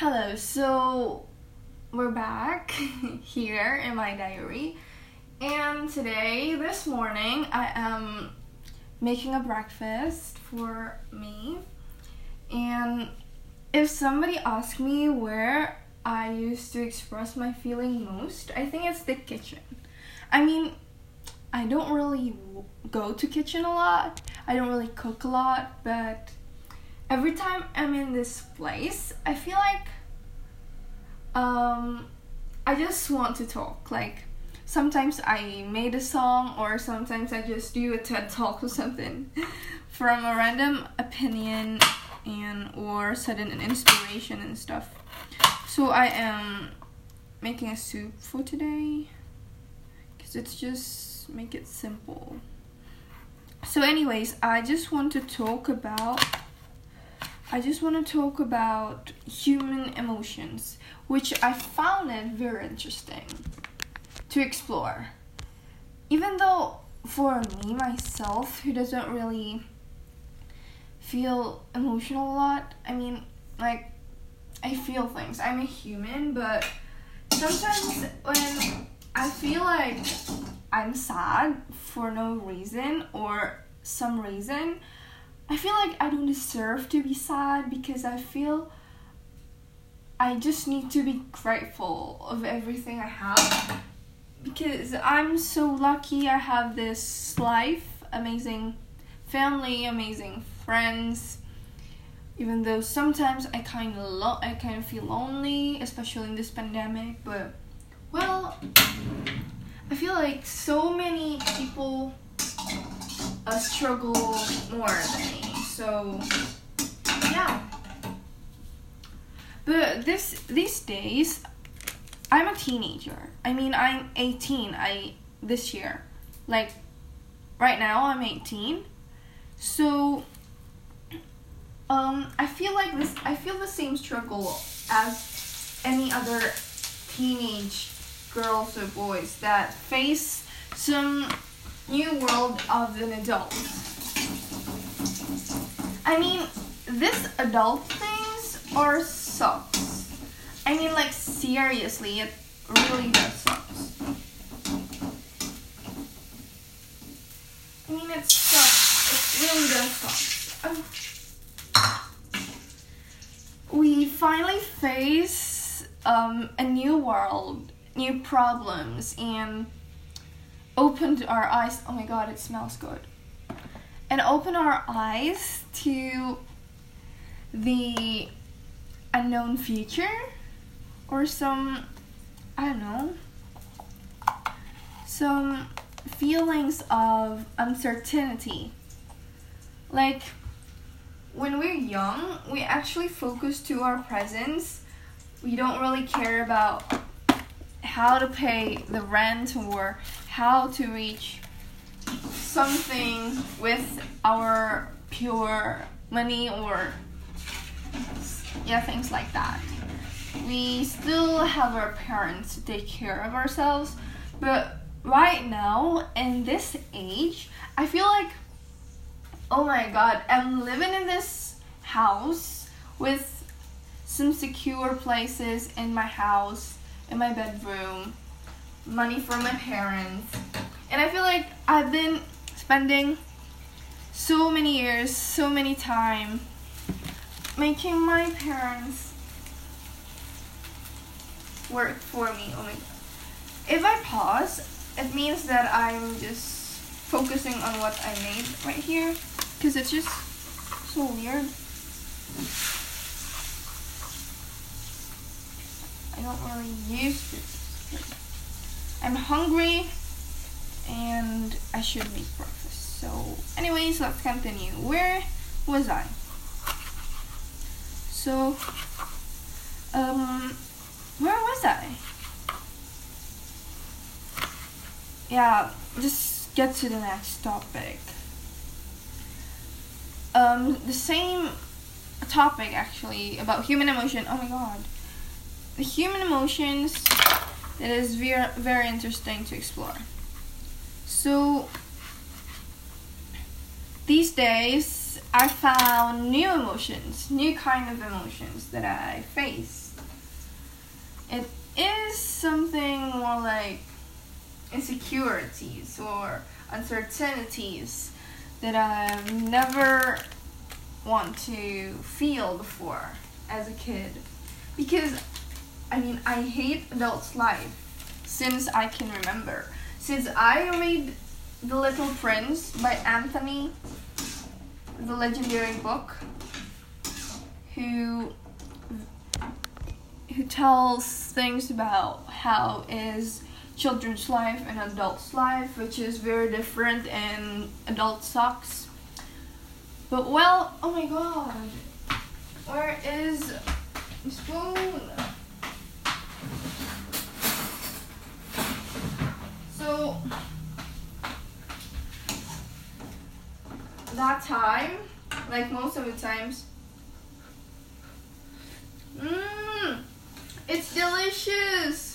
Hello, so we're back here in my diary, and this morning, I am making a breakfast for me. And if somebody asks me where I used to express my feeling most, I think it's the kitchen. I mean, I don't really go to kitchen a lot, I don't really cook a lot, but every time I'm in this place, I feel like I just want to talk. Like, sometimes I made a song, or sometimes I just do a TED Talk or something from a random opinion or sudden inspiration and stuff. So I am making a soup for today, because it's just make it simple. So anyways, I just want to talk about human emotions, which I found it very interesting to explore. Even though for me, myself, who doesn't really feel emotional a lot, I mean, like, I feel things. I'm a human, but sometimes when I feel like I'm sad for no reason or some reason, I feel like I don't deserve to be sad, because I feel I just need to be grateful of everything I have, because I'm so lucky. I have this life, amazing family, amazing friends, even though sometimes I kind of feel lonely, especially in this pandemic. But well, I feel like so many people struggle more than me. So yeah. But these days, I'm a teenager. I mean, I'm 18. This year, like right now, I'm 18. So I feel the same struggle as any other teenage girls or boys that face some new world of an adult. I mean, this adult things are sucks. I mean, like, seriously, it really does sucks. I mean, it sucks. It really does suck. We finally face a new world, new problems, and opened our eyes. Oh my god, it smells good. And open our eyes to the unknown future, or some feelings of uncertainty. Like, when we're young, we actually focus to our presents. We don't really care about how to pay the rent or how to reach something with our pure money, or things like that. We still have our parents to take care of ourselves, but right now, in this age, I feel like, oh my god, I'm living in this house with some secure places in my house, in my bedroom, money from my parents, and I feel like I've been spending so many years, so many time making my parents work for me. Oh my god. If I pause, it means that I'm just focusing on what I made right here, because it's just so weird. I don't really use this. I'm hungry and I should make breakfast. So anyways, let's continue. Where was I? So where was I? Yeah, just get to the next topic. The same topic, actually, about human emotion. Oh my god. The human emotions, it is very, very interesting to explore. So these days, I found new emotions, new kind of emotions that I faced. It is something more like insecurities or uncertainties that I've never want to feel before as a kid. Because, I hate adults' life since I can remember. Since I read The Little Prince by Anthony, the legendary book, who tells things about how is children's life and adults' life, which is very different, and adult sucks. But well, oh my god, where is the spoon? So that time, like most of the times, it's delicious.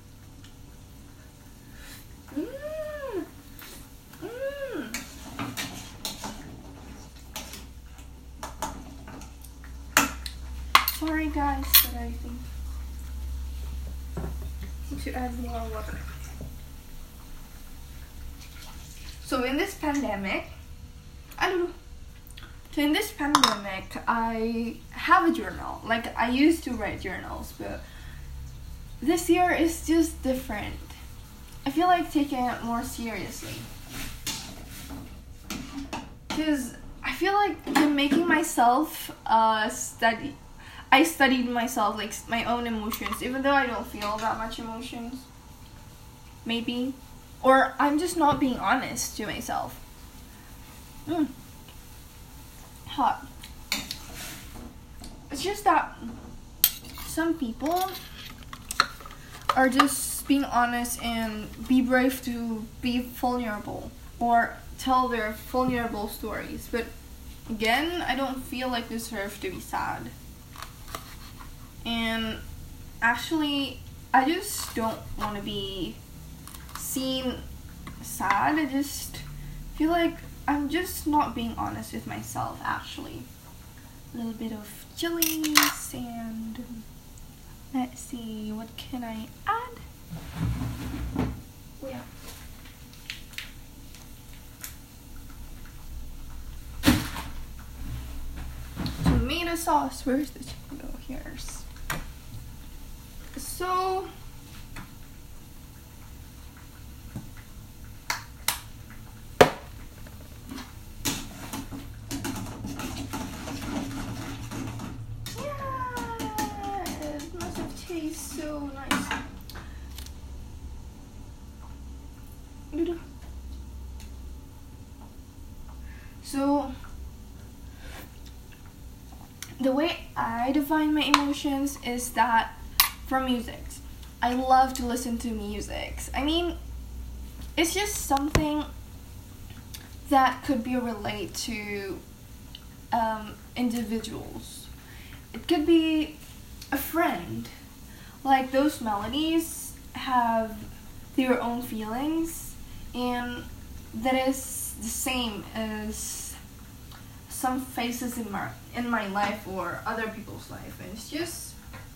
Sorry guys, but I think I need to add more water. So in this pandemic, I have a journal. Like, I used to write journals, but this year is just different. I feel like taking it more seriously. Because I feel like I'm making myself study. I studied myself, like my own emotions, even though I don't feel that much emotions. Maybe. Or I'm just not being honest to myself. Hot. It's just that some people are just being honest and be brave to be vulnerable or tell their vulnerable stories. But again, I don't feel like deserve to be sad. And actually, I just don't want to be seen sad. I just feel like I'm just not being honest with myself, actually. A little bit of chilies and let's see, what can I add? Oh yeah. Tomato sauce. Where's the chicken? Oh, here's. So tastes so nice. So the way I define my emotions is that from music. I love to listen to music. It's just something that could be related to individuals. It could be a friend. Like, those melodies have their own feelings, and that is the same as some phases in my life or other people's life, and it's just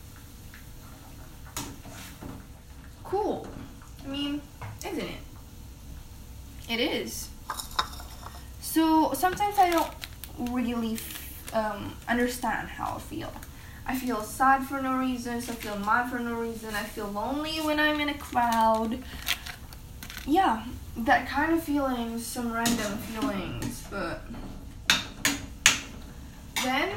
cool. Isn't it? It is. So sometimes I don't really understand how I feel. I feel sad for no reason, I feel mad for no reason, I feel lonely when I'm in a crowd. Yeah, that kind of feelings, some random feelings, but then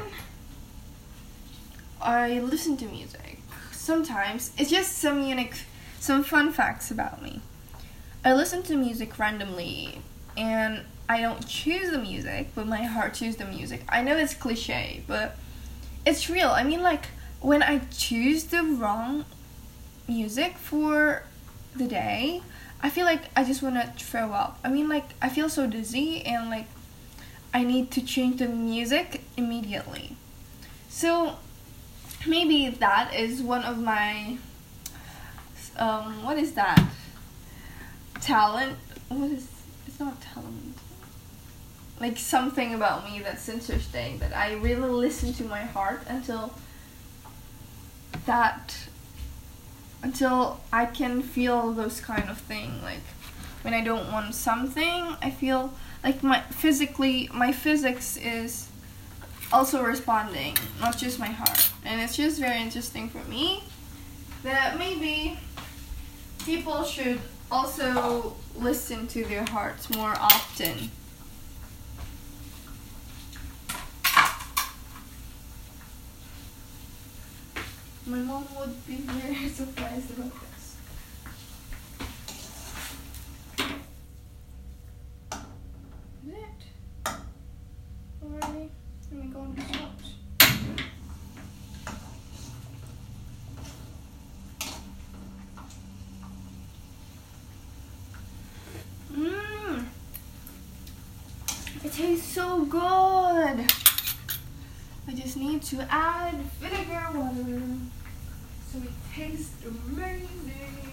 I listen to music. Sometimes, it's just some fun facts about me. I listen to music randomly, and I don't choose the music, but my heart chooses the music. I know it's cliche, but it's real. When I choose the wrong music for the day, I feel like I just want to throw up. I feel so dizzy and I need to change the music immediately. So maybe that is one of my what is that? Talent? It's not talent. like something about me that's interesting, that I really listen to my heart until I can feel those kind of thing. Like when I don't want something, I feel like my physics is also responding, not just my heart. And it's just very interesting for me that maybe people should also listen to their hearts more often. My mom would be very surprised about this. Is it? Already? Let me go on the shops. It tastes so good. I just need to add vinegar water so it tastes amazing.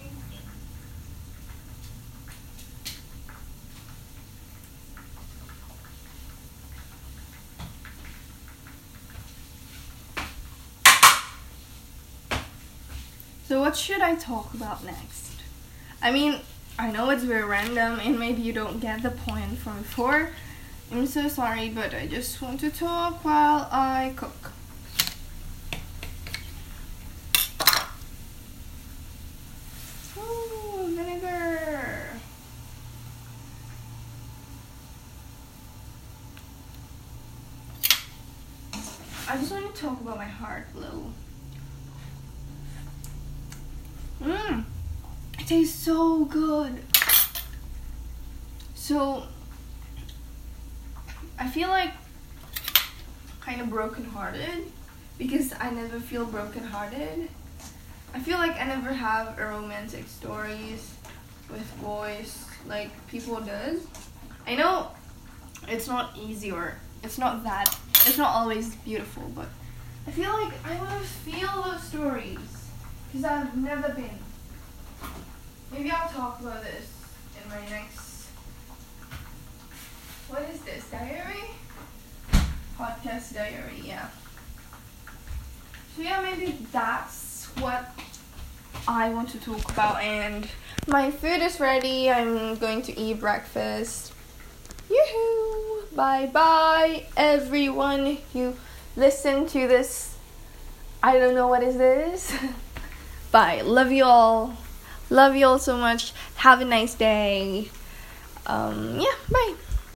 So what should I talk about next? I mean, I know it's very random and maybe you don't get the point from before. I'm so sorry, but I just want to talk while I cook. Oh, vinegar. I just want to talk about my heart a little. It tastes so good. So I feel like kind of brokenhearted because I never feel brokenhearted. I feel like I never have a romantic stories with boys like people does. I know it's not easy or it's not always beautiful, but I feel like I want to feel those stories because I've never been. Maybe I'll talk about this in my next, what is this, diary? Podcast diary, yeah. So yeah, maybe that's what I want to talk about, and my food is ready. I'm going to eat breakfast. Yoo-hoo! Bye-bye, everyone who listened to this. I don't know what is this. Bye. Love you all. Love you all so much. Have a nice day. Yeah, bye.